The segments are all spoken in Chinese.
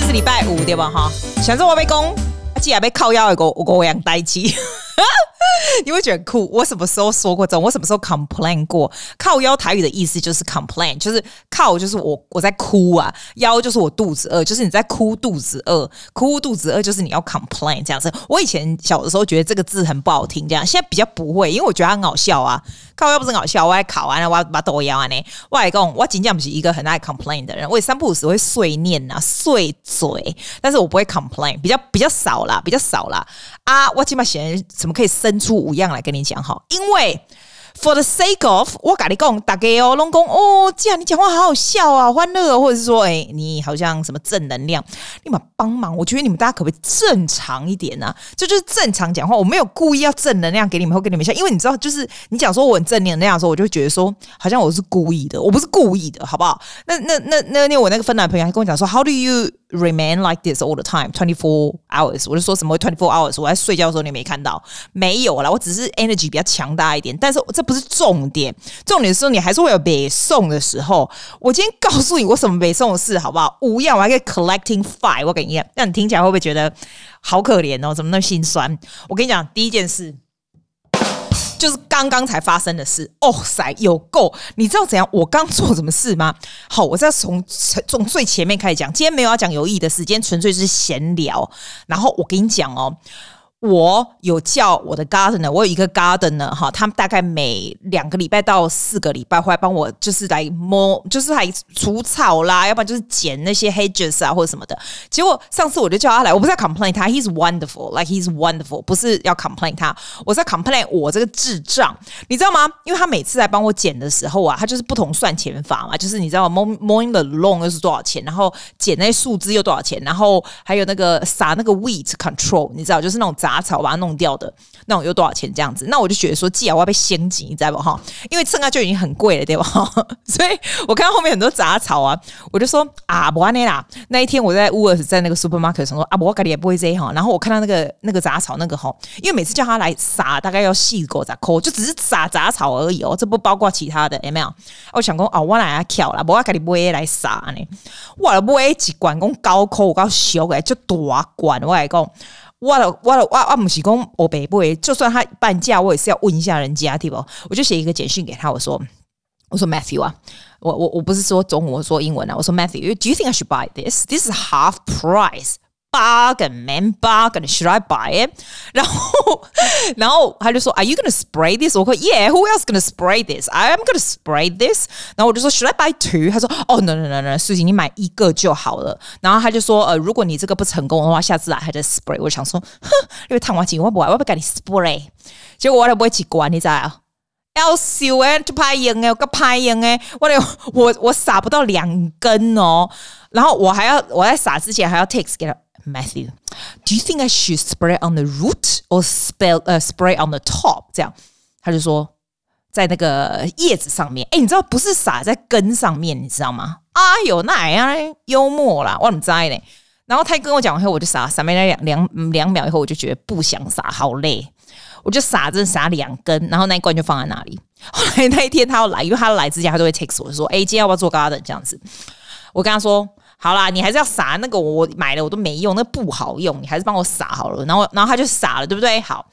是禮拜五對吧？哈，想說我被攻，既然被靠腰的我樣呆機。你會覺得很酷。我什麼時候說過這種？我什麼時候 complain 過？靠腰台語的意思就是 complain， 就是靠就是我在哭啊，腰就是我肚子餓，就是你在哭肚子餓，哭肚子餓就是你要 complain 這樣子。我以前小的時候覺得這個字很不好聽，這樣現在比較不會，因為我覺得它很好笑啊。靠腰不是很好笑，我來考完了，我把抖腰啊呢。我來講，我真正不是一個很愛 complain 的人，我三不五時會碎念啊、碎嘴，但是我不會 complain， 比較少啦，比較少啦。啊，我起碼寫什麼可以生出五樣來跟你講哈，因為 for the sake of 我跟你講，大家哦，攏講哦，既然你講話好好笑啊，歡樂，或者是說，你好像什麼正能量，你們幫忙，我覺得你們大家可不可以正常一點啊？這就是正常講話，我沒有故意要正能量給你們，或給你們笑，因為你知道，就是你講說我很正能量的時候，我就會覺得說，好像我是故意的，我不是故意的，好不好？那我那個芬蘭朋友還跟我講說 ，How do you remain like this all the time 24 hours？ 我就說什麼24 hours？ 我在睡覺的時候你沒看到？沒有啦，我只是 energy 比較強大一點，但是這不是重點，重點是說你還是會有北宋的時候。我今天告訴你我什麼北宋的事好不好？5樣，我還可以 collecting 5，我跟你講，那你聽起來會不會覺得好可憐哦？怎麼那麼心酸？我跟你講，第一件事就是剛剛才發生的事。哦塞，有夠！你知道怎樣？我剛做什麼事嗎？好，我是要從最前面開始講。今天沒有要講有意義的事，今天純粹是閒聊。然後我跟你講哦。我有叫我的 gardener， 我有一個 gardener 哈，他們大概每2個禮拜到4個禮拜會來幫我，就是來摸，就是來除草啦，要不然就是剪那些 hedges 啊或者什麼的。結果上次我就叫他來，我不是要 complain 他 ，he's wonderful，like he's wonderful， 不是要 complain 他，我是要 complain 我這個智障，你知道嗎？因為他每次來幫我剪的時候啊，他就是不同算錢法嘛，就是你知道 mowing the lawn 又是多少錢，然後剪那些樹枝又多少錢，然後還有那個撒那個 weed control， 你知道，就是那種雜草把它弄掉的那種有多少錢這樣子？那我就覺得說，既然我要被掀緊，你知道不哈？因為剩下就已經很貴了，對吧？所以我看到後面很多雜草啊，我就說啊，不然啦。那一天我在Woolworths在那個 supermarket 上說啊，我家裡也不會這樣哈。然後我看到那個雜草那個哈，因為每次叫他來撒，大概要4個雜塊，就只是撒雜草而已哦，這不包括其他的，有沒有？我想說哦，我來啊巧啦，我家裡不會來撒呢。我買一罐講高塊，我高小個就大罐，我來講。我不是說我北部，就算他半價，我也是要問一下人家，對不？我就寫一個簡訊給他，我說 Matthew 啊，我不是說中文，我說英文啊，我說 Matthew，do you think I should buy this? This is half price. Bargain, man, bargain. Should I buy it? 然後他就說 Are you going to spray this? 我說 Yeah, who else going to spray this? I'm going to spray this. 然後我就說 Should I buy 2? 他說 Oh, no, Susie, 你買1個就好了。然後他就說如果你這個不成功的話，下次來還在 spray。我想說哼，因為燙完錢我不給你 spray。結果我就不會去管，你知道要笑誒，就拍用誒，我個拍用誒，我撒不到2根哦。然後我在撒之前還要 text 給他。Matthew, do you think I should spray on the root or spray on the top? 這樣，他就說在那個葉子上面。你知道不是撒在根上面，你知道嗎？哎呦，那樣幽默啦，我怎麼知道呢？然後他跟我講完後，我就撒沒兩秒以後，我就覺得不想撒，好累，我就撒2根，然後那一罐就放在那裡。後來那一天他要來，因為他要來之前他都會 text 我說，今天要不要做 garden 這樣子？我跟他說。好啦，你還是要撒那個，我買了我都沒用，那不好用，你還是幫我撒好了。然後他就撒了，對不對？好，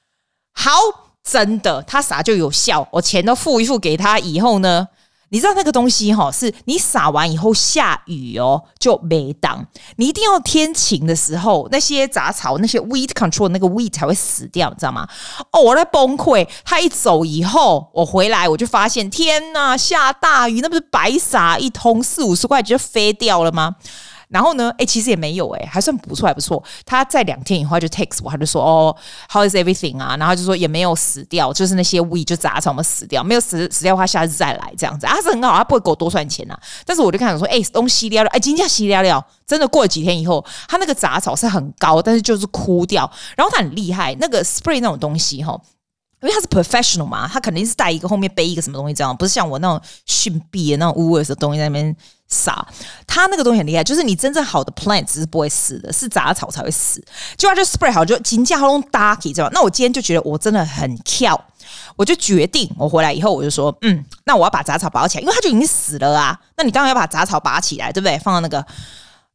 真的，他撒就有效。我錢都付一付給他以後呢，你知道那個東西是你撒完以後下雨哦就沒當，你一定要天晴的時候，那些雜草那些 weed control 那個 weed 才會死掉，你知道嗎？我在崩潰。他一走以後，我回來我就發現，天哪，下大雨，那不是白撒一通，40-50塊就飛掉了嗎？然後呢，其實也沒有還算不錯，還不錯。他在2天以後他就 text 我，他就說how is everything 啊？然後就說也沒有死掉，就是那些 weed 就雜草沒死掉，沒有死掉的話，下次再來這樣子。他是很好，他不會給我多算錢啊。但是我就看說，東西掉了，今天洗掉了，真的過了幾天以後，他那個雜草是很高，但是就是枯掉。然後他很厲害，那個 spray 那種東西因為他是 professional 嘛，他肯定是帶一個後面背一個什麼東西這樣，不是像我那種遜逼的那種 Woolworths 的東西在那邊撒。他那個東西很厲害，就是你真正好的 plant 是不會死的，是雜草才會死。結果他就 spray 好，就金價都打起，知道嗎？那我今天就覺得我真的很跳，我就決定，我回來以後我就說，那我要把雜草拔起來，因為它就已經死了啊。那你當然要把雜草拔起來，對不對？放到那個。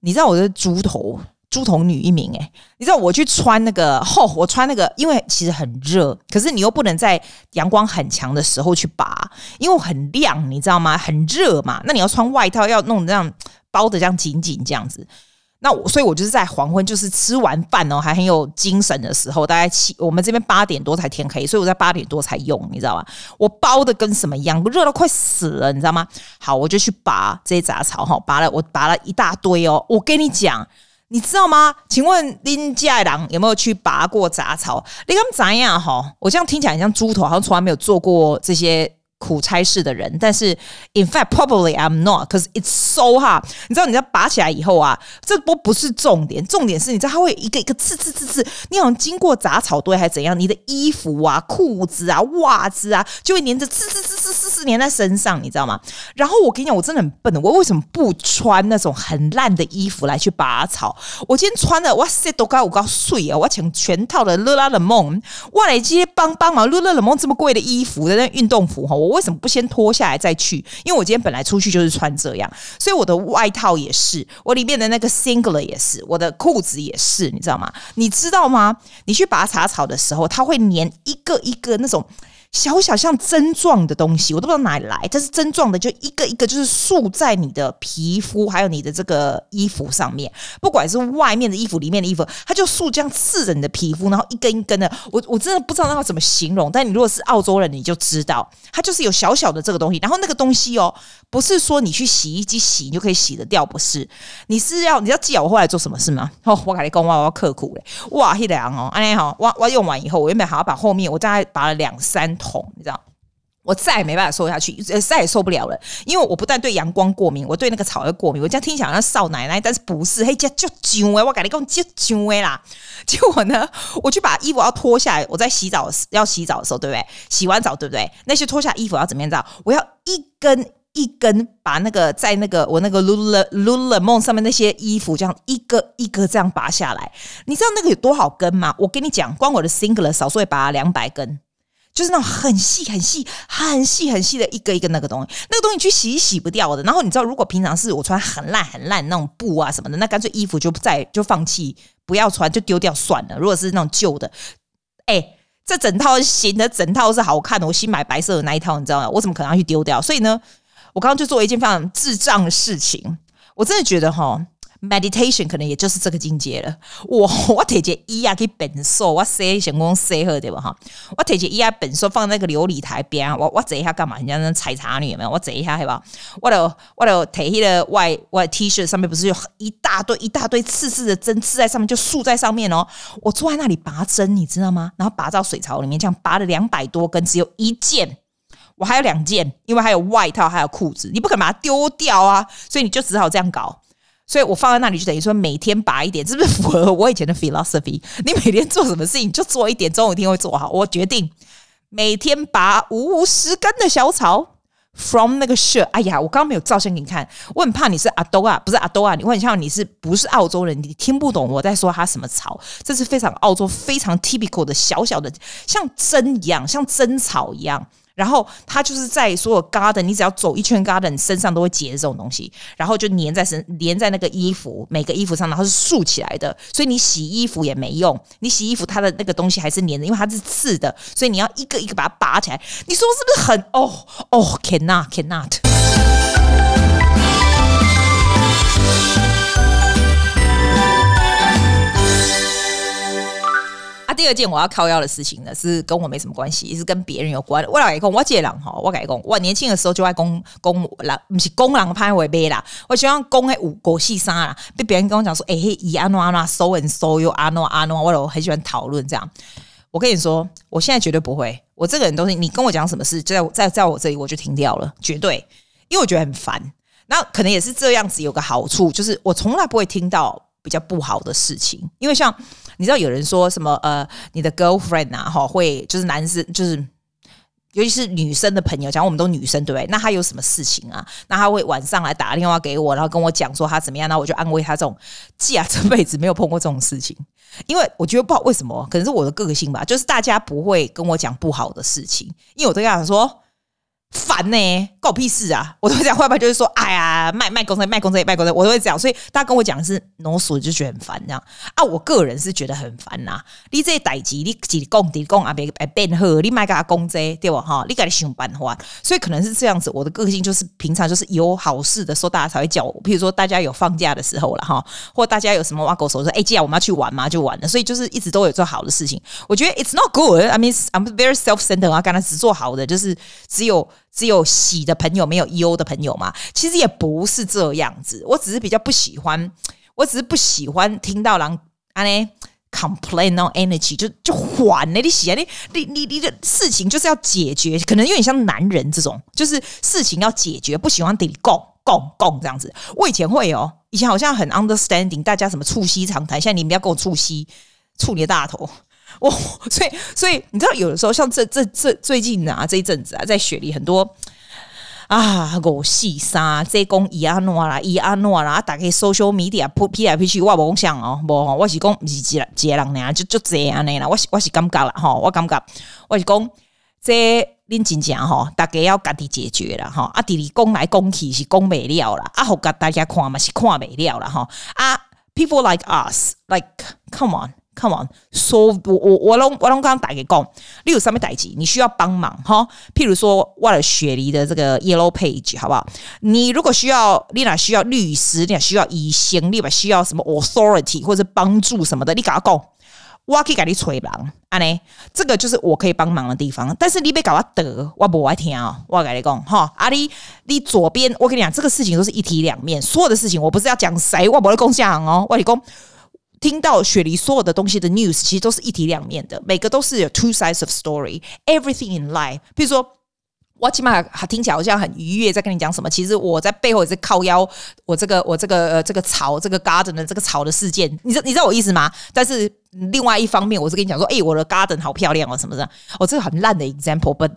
你知道我是豬頭女一名你知道我去穿那個我穿那個，因為其實很熱，可是你又不能在陽光很強的時候去拔，因為很亮，你知道嗎？很熱嘛，那你要穿外套，要弄這樣包的這樣緊緊這樣子。那所以我就是在黄昏，就是吃完飯還很有精神的時候，大概我們這邊8點多才天黑，所以我在8點多才用，你知道嗎？我包的跟什麼一樣，熱到快死了，你知道嗎？好，我就去拔這些雜草我拔了一大堆我跟你講，你知道嗎？請問恁家的人有沒有去拔過雜草？你敢知樣我這樣聽起來很像豬頭，好像從來沒有做過這些苦差事的人，但是 in fact probably I'm not, because it's so hard。 你知道你要拔起來以後這不是重點，重點是你知道它會一個一個刺，你好像經過雜草堆還是怎樣，你的衣服褲子襪子就會黏着刺黏在身上，你知道嗎？然後我跟你講，我真的很笨，我為什麼不穿那種很爛的衣服來去拔草？我今天穿的哇塞都我告水我請全套的勒拉冷夢，我来接帮忙勒拉冷夢这麼貴的衣服的那運動服我為什麼不先脫下來再去？因為我今天本來出去就是穿這樣，所以我的外套也是，我裡面的那個 singlet 也是，我的褲子也是，你知道嗎？你知道嗎？你去拔茶草的時候，它會粘一個一個那種小小像針狀的東西，我都不知道哪裡來，但是針狀的就一個一個就是束在你的皮膚還有你的這個衣服上面，不管是外面的衣服裡面的衣服，它就束這樣刺着你的皮膚，然後一根一根的，我真的不知道那要怎麼形容，但你如果是澳洲人你就知道，它就是有小小的這個東西，然後那個東西不是說你去洗衣機洗你就可以洗得掉，不是，你要記得我後來做什麼事嗎？我跟你說我要刻苦哇那個我用完以後，我原本還要把後面我大概拔了2-3桶，你知道，我再也沒辦法瘦下去，再也受不了了。因為我不但对陽光過敏，我对那個草也過敏。我這樣聽起來好像少奶奶，但是不是？嘿，這就囧我跟你講就囧啦。結果呢，我去把衣服要脫下來，我在要洗澡的時候，對不對？洗完澡，對不對？那些脫下衣服要怎麼樣？知道？我要一根一根把那個在那個我那個 Lululemon 上面那些衣服這樣一個一個這樣拔下來。你知道那個有多少根嗎？我跟你講，光我的 singlet 少說也拔了200根。就是那種很細的一個一個那個東西，那個東西去洗洗不掉的。然後你知道，如果平常是我穿很爛那種布什麼的，那乾脆衣服就放棄，不要穿就丟掉算了。如果是那種舊的，這整套新的，整套是好看的，我新買白色的那一套，你知道嗎？我怎麼可能要去丟掉？所以呢，我剛剛就做了一件非常智障的事情，我真的覺得meditation 可能也就是這個境界了。我拿着椅子去變瘦，我洗先講洗好對吧？我拿着椅子變瘦放在那個琉璃台邊，我坐一下幹嘛？人家那採茶女有沒有？我坐一下對吧？我就拿那個外 T 恤上面不是有一大堆刺的針刺在上面，就束在上面我坐在那裡拔針，你知道嗎？然後拔到水槽裡面，這樣拔了200多根，只有1件。我還有2件，因為還有外套，還有褲子，你不可能把它丟掉啊，所以你就只好這樣搞。所以我放在那裡就等於說每天拔一點，是不是符合我以前的 philosophy？ 你每天做什麼事情就做一點，總有一天會做好。我決定每天拔50根的小草 from 那個 shirt。哎呀，我剛剛沒有照相給你看，我很怕你是阿多啊，不是阿多啊，我很像你是不是澳洲人，你聽不懂我在說它什麼草。這是非常澳洲非常 typical 的小小的，像針一樣，像針草一樣。然後它就是在所有 garden， 你只要走一圈 garden， 身上都會結這種東西，然後就粘在那個衣服，每個衣服上，然後是豎起來的，所以你洗衣服也沒用，你洗衣服它的那個東西還是粘的，因為它是刺的，所以你要一個一個把它拔起來。你說是不是很cannot。第二件我要靠腰的事情呢，是跟我沒什麼關係，也是跟別人有關。我老講，我這個人我跟你講，我年輕的時候就愛講人，不是講人歹話買啦，我喜歡講那五細沙啦，被別人跟我講說，伊安怎 so and so 又安怎，我都很喜歡討論這樣。我跟你說，我現在絕對不會，我這個人都是你跟我講什麼事，就在我這裡我就停掉了，絕對，因為我覺得很煩。那可能也是這樣子有個好處，就是我從來不會聽到比較不好的事情，因為像你知道有人說什麼你的 girlfriend 會就是男生就是尤其是女生的朋友，講我們都女生對不對？那他有什麼事情啊？那他會晚上來打電話給我，然後跟我講說他怎麼樣，那我就安慰他。這種這輩子沒有碰過這種事情，因為我覺得不知道為什麼，可能是我的個性吧，就是大家不會跟我講不好的事情，因為我都跟他講說煩呢、欸，關我屁事啊！我都會這樣，要不然就是說，哎呀，賣公司，我都會這樣。所以大家跟我講的是 no 數，就覺得很煩這樣啊。我個人是覺得很煩吶。你這代誌，你自己講啊，別變好，你賣給他講這對吧？哈，你給他想辦法。所以可能是這樣子，我的個性就是平常就是有好事的時候，大家才會叫我。譬如說大家有放假的時候了哈，或大家有什麼挖狗手說，哎，既然我們要去玩嘛，就玩了。所以就是一直都有做好的事情。我覺得 it's not good. I mean, I'm very self-centered 啊，剛才只做好的，就是只有喜的朋友，沒有憂的朋友嘛？其實也不是這樣子，我只是比較不喜歡聽到人安呢 complain on energy 就緩呢，你喜啊你的事情就是要解決，可能有點像男人這種，就是事情要解決，不喜歡得講這樣子。我以前會以前好像很 understanding 大家什麼促膝長談，現在你們不要跟我促膝，觸你的大頭。所以你知道，有的時候像這最近啊，這一陣子啊，在雪梨很多啊，狗戲殺這講伊安諾啦，大家 social media 批來批去，我無講想無，我是講不是一個人呢，就這樣呢啦，我是感覺啦吼，我感覺我是講這恁真正吼，大家要家己解決啦吼，啊，第二講來講去是講袂了啦，啊，互大家看嘛是看袂了啦吼，啊 ，people like us like come on， so 我攏剛大家講，你有什麼代志你需要幫忙哈？譬如說，我的雪梨的這個 Yellow Page 好不好？你如果需要，你哪需要律師，你哪需要醫生，你哪需要什麼 authority 或者幫助什麼的，你跟我講，我可以給你吹人，安呢？這個就是我可以幫忙的地方。但是你別搞我得，我不愛聽哦。我跟你講哈，啊你左邊，我跟你講，這個事情都是一體兩面，所有的事情我不是要講誰，我不會講講哦，我跟你講。聽到雪梨所有的東西的 news 其實都是一體兩面的，每個都是有 two sides of story. Everything in life， 比如說我起碼聽起來好像很愉悅，在跟你講什麼，其實我在背後也是靠腰我這個草這個 garden 的這個草的事件，你知道我意思嗎？但是另外一方面，我是跟你講說，我的 garden 好漂亮哦，什麼的，這個很爛的 example，but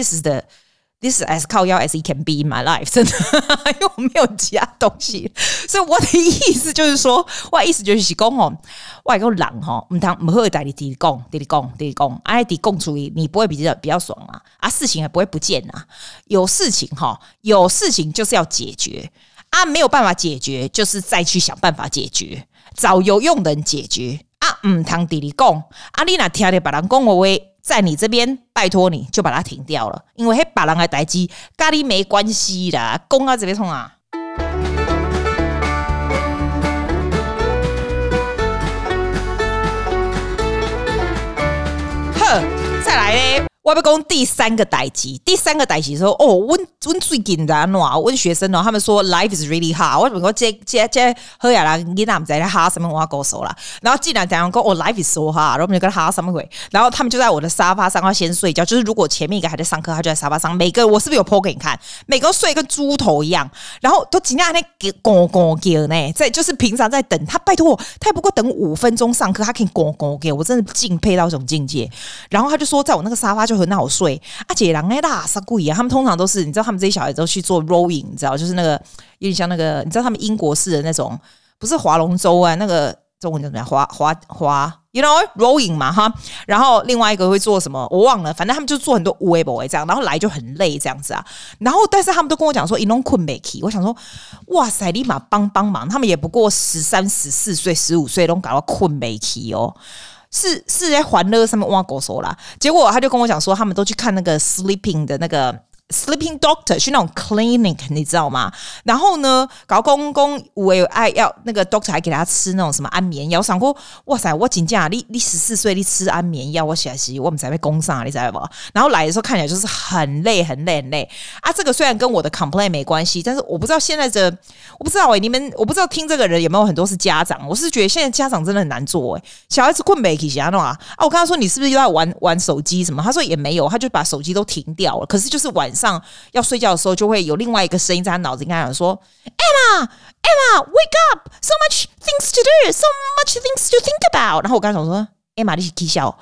this is as 靠腰 as it can be in my life， 真的，因為我沒有其他東西，所以我的意思就是說，我的意思就是講吼，我講人吼，唔好代你講，哎，你講出去，你不會比較爽啊，事情也不會不見啊，有事情就是要解決啊，沒有辦法解決，就是再去想辦法解決，找有用的人解決啊，唔通你講啊，你若聽到別人講的話。在你這邊，拜託你就把它停掉了，因為別人的代誌跟你沒關係啦。講到這邊衝啊！呵，再來咧。我要講第三個代誌說我最近的問學生他們說 life is really hard。我怎麼說這好呀啦，你哪不在哈什麼我告訴啦。然後既然這樣講life is so hard，然後我們就跟他哈什麼鬼？然後他們就在我的沙發上要先睡覺。就是如果前面一個還在上課，他就在沙發上。每個我是不是有 po 給你看？每個都睡跟豬頭一樣，然後都盡量那拱叫呢。在就是平常在等他，拜託我，他也不過等5分鐘上課，他可以拱叫，我真的敬佩到這種境界。然後他就說，在我那個沙發就很好睡啊，姐人哎啦，啥鬼啊？他們通常都是，你知道，他們這些小孩都去做 rowing， 你知道，就是那個有點像那個，你知道他們英國式的那種，不是划龍舟啊，那個中文叫怎麼樣？划 ，you know rowing 嘛哈。然後另外一個會做什麼？我忘了，反正他們就做很多有的沒的這樣，然後來就很累這樣子啊。然後但是他們都跟我講說，一弄困沒起。我想說，哇塞，立馬幫忙，他們也不過13、14歲、15歲都搞到困沒起哦。是在歡樂上面挖狗手啦，結果他就跟我講說，他們都去看那個 sleeping 的那個 sleeping doctor， 去那種 clinic， 你知道嗎？然後呢，搞公我有愛要那個 doctor 還給他吃那種什麼安眠藥。我想過，哇塞，我真的你14歲你吃安眠藥，我實在是我們才被攻上，你知道不？然後來的時候看起來就是很累啊。這個雖然跟我的 complaint 沒關係，但是我不知道現在我不知道你們我不知道聽這個人有沒有很多是家長。我是覺得現在家長真的很難做小孩子困沒起是怎樣啊？我跟他說你是不是又在玩手機什麼？他說也沒有，他就把手機都停掉了。可是就是晚上要睡覺的時候，就會有另外一個聲音在他腦子裡跟他講說 Emma wake up so much things to do so much things to think about。 然後我跟他講說 Emma 你是起笑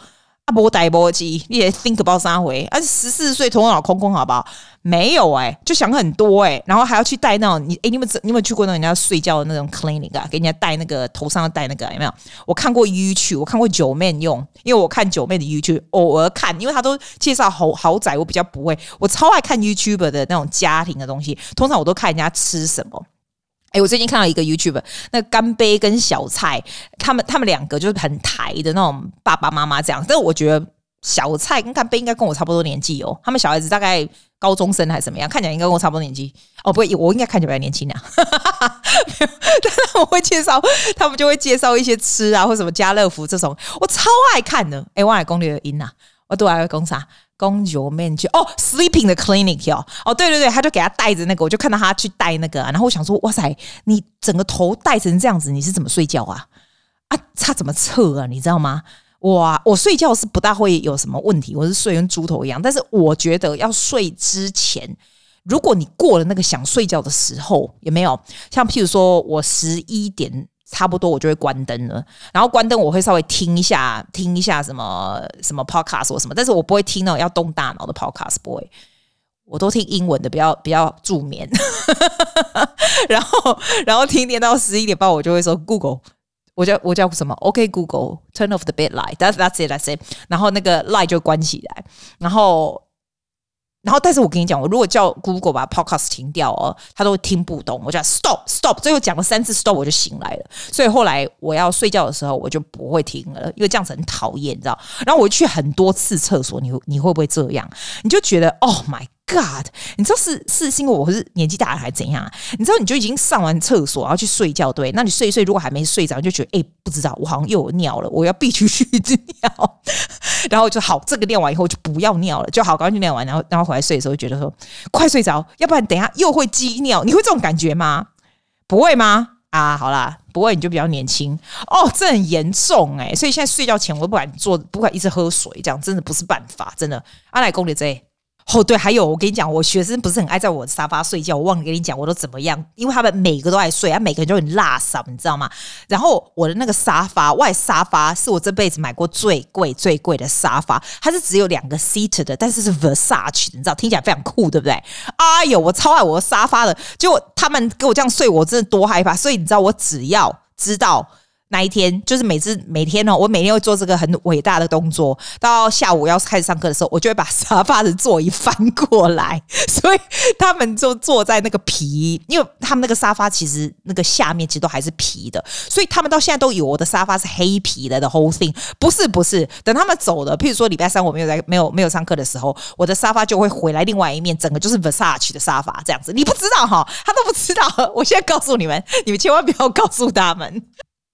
沒呆沒記，你也 think about 啥回？而且14歲頭腦空空，好不好？沒有就想很多然後還要去戴那種你們有沒有去過那種人家睡覺的那種 clinic 啊？給人家戴那個頭上要戴那個有沒有？我看過 YouTube， 我看過九妹用，因為我看九妹的 YouTube， 偶爾看，因為他都介紹豪宅，我比較不會，我超愛看 YouTuber 的那種家庭的東西，通常我都看人家吃什麼。我最近看到一個 YouTuber， 那個乾杯跟小菜，他們兩個就是很台的那種爸爸媽媽這樣，但是我覺得小菜跟乾杯應該跟我差不多年紀哦，他們小孩子大概高中生還是怎麼樣，看起來應該跟我差不多年紀哦，不會，我應該看起來比較年輕啊。但他們會介紹，他們就會介紹一些吃啊，或什麼家樂福這種，我超愛看的。我來講你的音啊，我都愛講啥？公牛面具sleeping 的 clinic 對，他就給他戴着那個，我就看到他去戴那個然後我想說，哇塞，你整個頭戴成這樣子，你是怎麼睡覺啊？他怎麼測啊？你知道嗎？哇，我睡覺是不大會有什麼問題，我是睡跟豬頭一樣，但是我覺得要睡之前，如果你過了那個想睡覺的時候，有沒有？像譬如說我11點。差不多我就會關燈了，然後關燈我會稍微聽一下什麼 podcast 或什麼，但是我不會聽那種要動大腦的 podcast， 不會，我都聽英文的，比較助眠。然後聽到11點半，我就會說 Google， 我叫什麼 ？OK Google turn off the bed light， that's it， 然後那個 light 就關起來，然後，但是我跟你講，我如果叫 Google 把 Podcast 停掉他都會聽不懂。我叫 Stop， 最後講了3次 Stop， 我就醒來了。所以後來我要睡覺的時候，我就不會聽了，因為這樣子很討厭，你知道。然後我去很多次廁所，你會不會這樣？你就覺得 Oh my God， 你知道是因為我是年紀大了還是怎樣啊？你知道你就已經上完廁所然後去睡覺，对？那你睡一睡，如果還沒睡着，你就覺得不知道，我好像又有尿了，我要必須去尿。然後就好，這個尿完以後就不要尿了，就好，趕快去尿完，然後回來睡的時候，覺得說快睡着，要不然等一下又會積尿。你會這種感覺嗎？不會嗎？好啦，不會你就比較年輕這很嚴重所以現在睡覺前我都不敢一直喝水，這樣真的不是辦法，真的。來講你這對，還有我跟你講，我學生不是很愛在我的沙發睡覺，我忘了跟你講我都怎麼樣，因為他們每個都愛睡，每個人就很辣嗓，你知道嗎？然後我的那個沙發是我這輩子買過最貴的沙發，它是只有2個 seat 的，但是是 Versace 的，你知道，聽起來非常酷，对不對？我超愛我的沙發的，結果他們給我這樣睡，我真的多害怕。所以你知道，我只要知道那一天，就是每天我每天會做這個很偉大的動作，到下午要開始上課的時候，我就會把沙發的座椅翻過來，所以他們就坐在那個皮，因為他們那個沙發其實那個下面其實都還是皮的，所以他們到現在都以為我的沙發是黑皮的 the whole thing， 不是，等他們走了，譬如說禮拜3我沒有上課的時候，我的沙發就會回來另外一面，整個就是 Versace 的沙發這樣子，你不知道他都不知道，我現在告訴你們千萬不要告訴他們。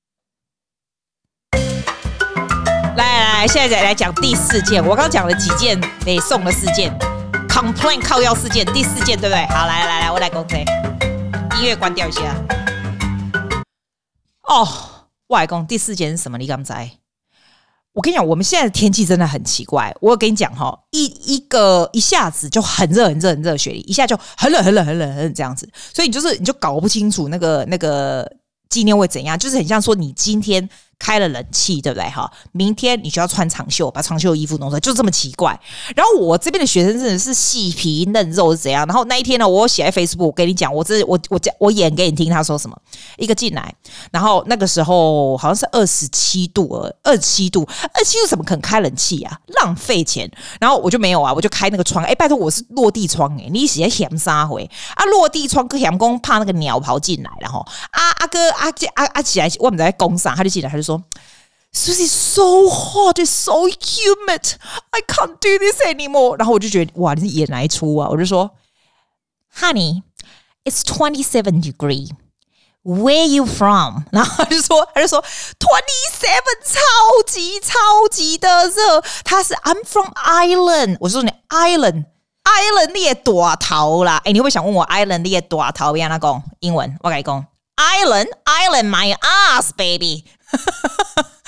來，現在來講第4件。我剛講了幾件北宋的事件 ，complain 靠腰事件，第4件對不對？好，來，我來講這個，音樂關掉一下。我來講第4件是什麼？你敢知？我跟你講，我們現在的天氣真的很奇怪。我跟你講一下子就很熱雪梨，一下就很冷這樣子，所以你就搞不清楚那個紀念會怎樣，就是很像說你今天開了冷氣，对不对？明天你就要穿長袖，把長袖的衣服弄出來，就這麼奇怪。然後我這邊的學生真的是細皮嫩肉是怎樣？然後那一天呢，我寫在 Facebook， 我跟你講，我演給你聽，他說什麼？一個進來，然後那個時候好像是27度，27度怎麼可能開冷氣啊？浪費錢。然後我就沒有啊，我就開那個窗。拜託，我是落地窗你是在嫌啥回啊？落地窗跟嫌公怕那個鳥跑進來，然後阿起來，我們在工上，他就進來，他就說 Susie so hot, it's so humid, I can't do this anymore。然後我就覺得哇，你是演哪一出啊？我就說 Honey, it's 27 degree. Where you from？ 然後他就說27超級的熱。他是 I'm from Ireland。我說你 Ireland 你也大頭啦。你會不會想問我 Ireland 你也大頭要哪講英文？我跟你講。Island my ass baby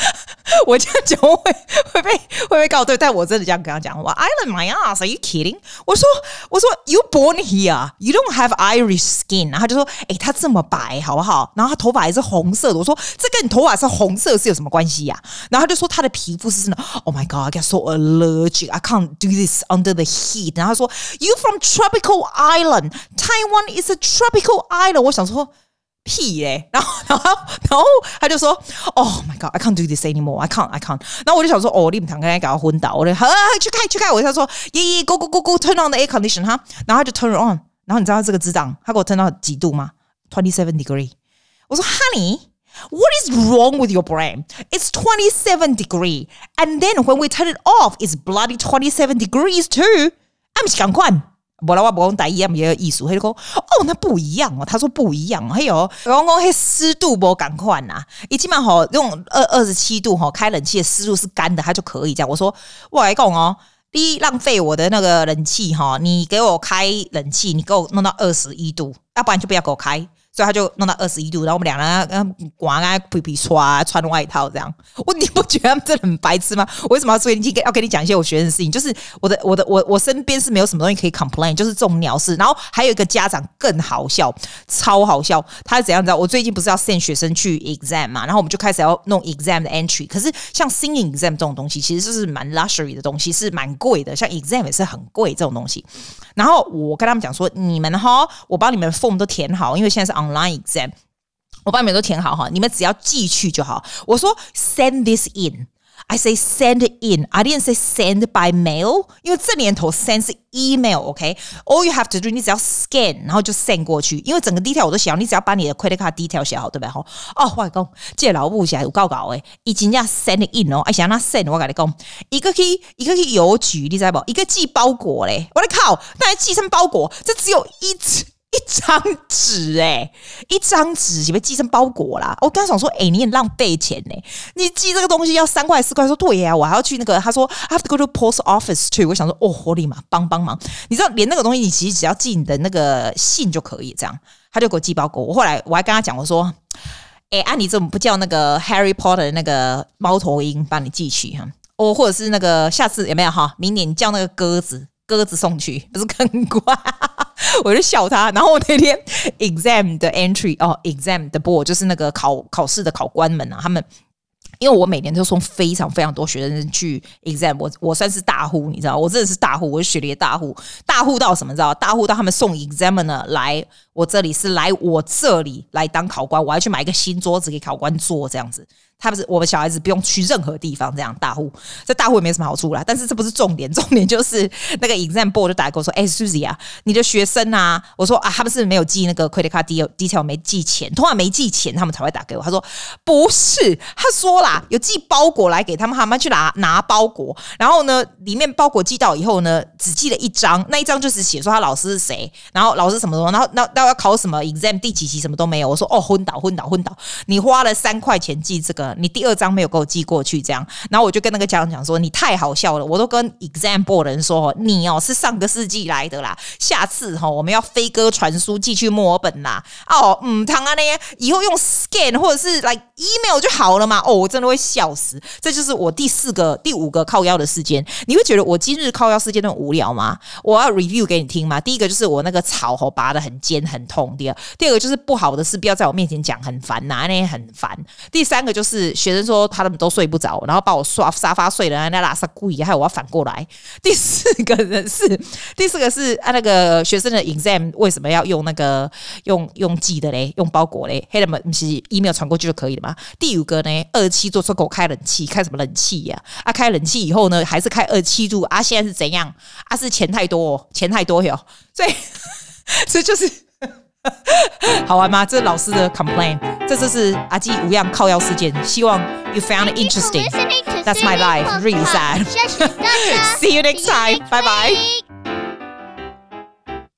我這樣講會被告對，但我真的這樣跟他講，我 Island my ass, are you kidding？ 我說 you born here, you don't have Irish skin。然後他就說，他這麼白好不好？然後他頭髮還是紅色的。我說這跟你頭髮是紅色是有什麼關係呀？然後他就說他的皮膚是真的 ，Oh my God, I get so allergic, I can't do this under the heat。然後他說 You from tropical island, Taiwan is a tropical island。我想說。屁嘞，然後他就說 ，Oh my God, I can't do this anymore, I can't。然後我就想說，你们两個人搞到昏倒，我就去開。我就說，go turn on the air condition 哈，然後他就 turn it on。然後你知道這個智障，他給我 turn 到幾度嗎？27 degree。我說 ，Honey, what is wrong with your brain? It's 27 degree, and then when we turn it off, it's bloody 27 degrees too。啊，不是趕快。不然我不講台語，也有藝術。他就說：“那不一樣哦。”他說不一樣哦。還有，我講那濕度不趕快吶。一起碼吼用27度吼開冷氣的濕度是乾的，它就可以這樣。我說我來講哦，你浪費我的那個冷氣哈，你給我開冷氣，你給我弄到21度，要不然就不要給我開。所以他就弄到21度，然後我們兩人刮啊皮皮刷穿外套這樣。你不覺得他們真的很白痴嗎？我為什麼要要跟你講一些我學生的事情？就是我身邊是沒有什麼東西可以 complain， 就是這種鳥事。然後還有一個家長更好笑，超好笑。他是怎樣知道？我最近不是要 send 學生去 exam 嘛，然後我們就開始要弄 exam 的 entry。可是像 singing exam 這種東西，其實就是蠻 luxury 的東西，是蠻貴的。像 exam 也是很貴這種東西。然後我跟他們講說，你們哈，我幫你們 form 都填好，因為現在是 online exam， 我幫你們都填好哈，你們只要寄去就好。我說 send this in。I say send it in. I didn't say send by mail， 因為這年頭 send 是 email，OK？All you have to do， 你只要 scan， 然後就 send 過去。因為整個 detail 我都寫好，你只要把你的 credit card detail 寫好，對不對？我跟你講，這個老母寫有夠搞誒，伊真正 send it in 哦，而且那 send 我跟你講，一個去郵局，你知道不？一個寄包裹嘞，我的靠，那還寄什麼包裹？這只有一張紙一張紙是被寄成包裹啦！我剛想說，你很浪費錢呢，你寄這個東西要3塊4塊，說對呀，我還要去那個，他說 I have to go to post office too。我想說，我立馬幫忙，你知道，連那個東西你其實只要寄你的那個信就可以，這樣他就給我寄包裹。我後來我還跟他講，我說，你怎麼不叫那個 Harry Potter 的那個貓頭鷹幫你寄去哈？或者是那個下次有沒有哈？明年你叫那個鴿子送去，不是更乖？我就笑他，然後我那天 exam 的 entry exam 的 board 就是那個考試的考官們啊，他們因為我每年都送非常非常多學生去 exam， 我算是大戶，你知道，我真的是大戶，我是學歷的大戶到什麼？知道？大戶到他們送 examiner 來我這裡來當考官，我還去買一個新桌子給考官坐，這樣子。他不是我們小孩子不用去任何地方，這樣大戶，這大戶也沒什麼好處啦。但是這不是重點，重點就是那個 exam board 就打來跟我說：“Susie 啊，你的學生啊。”我說：“他們是沒有寄那個 credit card detail， 沒寄錢，通常沒寄錢他們才會打給我。”他說：“不是，他說啦，有寄包裹來給他們，他們去拿包裹，然後呢，裡面包裹寄到以後呢，只寄了一張，那一張就是寫說他老師是誰，然後老師什麼什麼，然後要考什麼 exam 第幾期什麼都沒有。”我說：“昏倒！你花了3塊錢寄這個。”你第2張沒有給我寄過去，這樣，然後我就跟那個家長講說，你太好笑了，我都跟 exam board 的人說，你是上個世紀來的啦，下次我們要飛鴿傳書寄去墨爾本啦，唐啊那以後用 scan 或者是來 email 就好了嘛，我真的會笑死，這就是我第5個靠腰的事件。你會覺得我今日靠腰事件都很無聊嗎？我要 review 給你聽嘛。第一個就是我那個草拔得很尖很痛，第二個就是不好的事不要在我面前講，很煩吶，那很煩。第3個就是學生說他們都睡不着，然後把我刷沙發睡了，那拉薩故意，還有我要反過來。第四個是那個學生的 exam 為什麼要用那個用寄的嘞，用包裹嘞？黑人們不是 email 傳過去就可以了嗎？第5個呢，27做出給我開冷氣，開什麼冷氣呀？開冷氣以後呢，還是開27度啊？現在是怎樣？是錢太多喲，所以就是。好玩嗎？這是老師的 complaint， 這就是阿基無恙靠腰事件。希望 you found it interesting. That's my life. Really sad. See you next time. Bye bye.